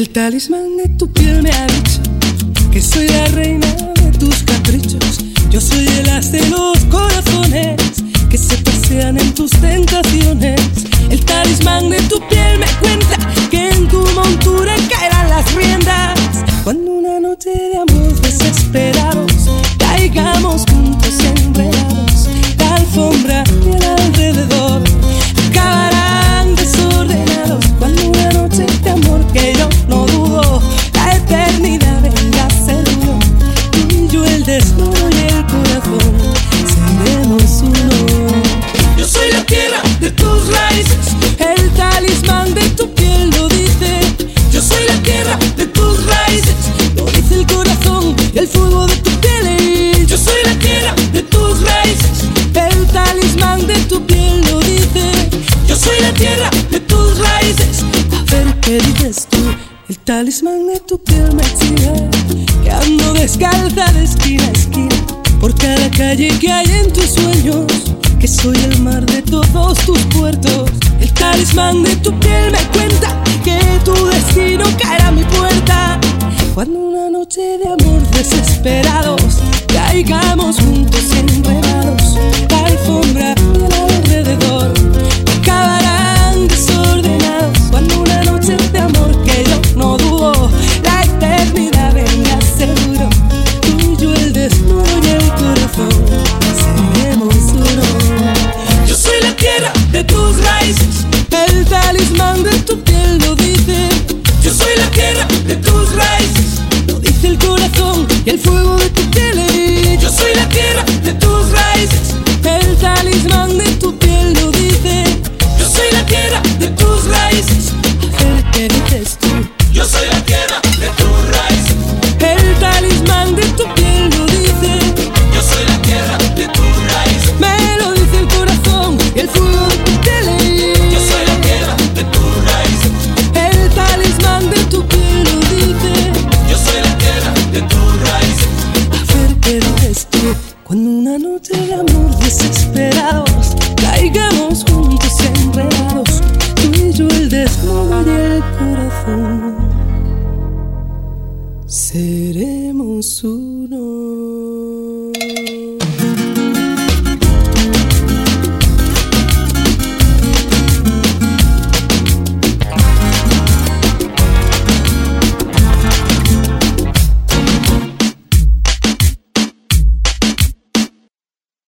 El talismán de tu piel me ha dicho que soy la reina de tus caprichos. Yo soy el as de los corazones que se pasean en tus tentaciones. El talismán de tu piel me cuenta que en tu montura caerán las riendas. Cuando una noche de amor desesperados caigamos juntos enredados, la alfombra y el alrededor acabarán desordenados. Cuando una noche de amor que yo no dudo, la eternidad venga seguro, tú y yo el desnudo y el corazón seremos uno. Yo soy la tierra de tus raíces, el talismán de tu piel lo dice. Yo soy la tierra de tus raíces, lo dice el corazón y el fuego de tu piel. Yo soy la tierra de tus raíces, el talismán de tu piel lo dice. Yo soy la tierra de tus raíces. A ver qué dices tú. El talismán de tu piel me exige que ando descalza de esquina a esquina por cada calle que hay en tus sueños, que soy el mar de todos tus puertos. El talismán de tu piel me cuenta que tu destino caerá a mi puerta. Cuando una noche de amor desesperados caigamos juntos enredados, la alfombra y el alrededor acabarán desordenados. Cuando una noche de amor que yo no dudo, la eternidad venga seguro, tú y yo el desnudo y el corazón seremos uno. Yo soy la tierra de tus raíces, el talismán de tu piel lo dice. Yo soy la tierra de tus raíces, lo dice el corazón y el fuego de tu piel. Yo soy la tierra de tus raíces, el talismán de tu piel lo dice. Yo soy la tierra de tus raíces. A ver qué dices tú. Yo soy la tierra de tus raíces, El talismán de tu piel lo dice. yo soy la tierra de tus raíces, Me lo dice el corazón y el fuego de tu piel. yo soy la tierra de tus raíces, El talismán de tu piel lo dice. yo soy la tierra de tus raíces. A ver qué dices tú. Cuando una noche de amor desesperados caigamos juntos enredados, tú y yo el desnudo y el corazón seremos uno.